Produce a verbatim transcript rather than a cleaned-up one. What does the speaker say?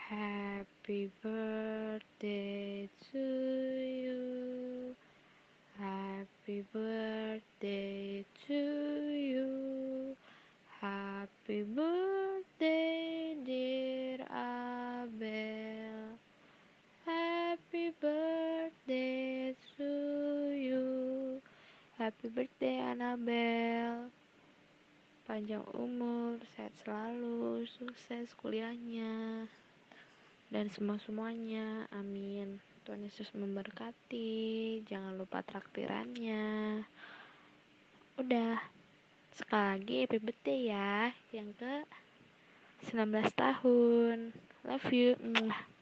Happy birthday to you. Happy birthday to you. Happy birthday, dear Abel. Happy birthday to you. Happy birthday, Annabel. Panjang umur, sehat selalu, sukses kuliahnya, dan semua-semuanya. Amin. Tuhan Yesus memberkati. Jangan lupa traktirannya. Udah. Sekali lagi happy birthday ya. Yang ke sembilan belas tahun. Love you.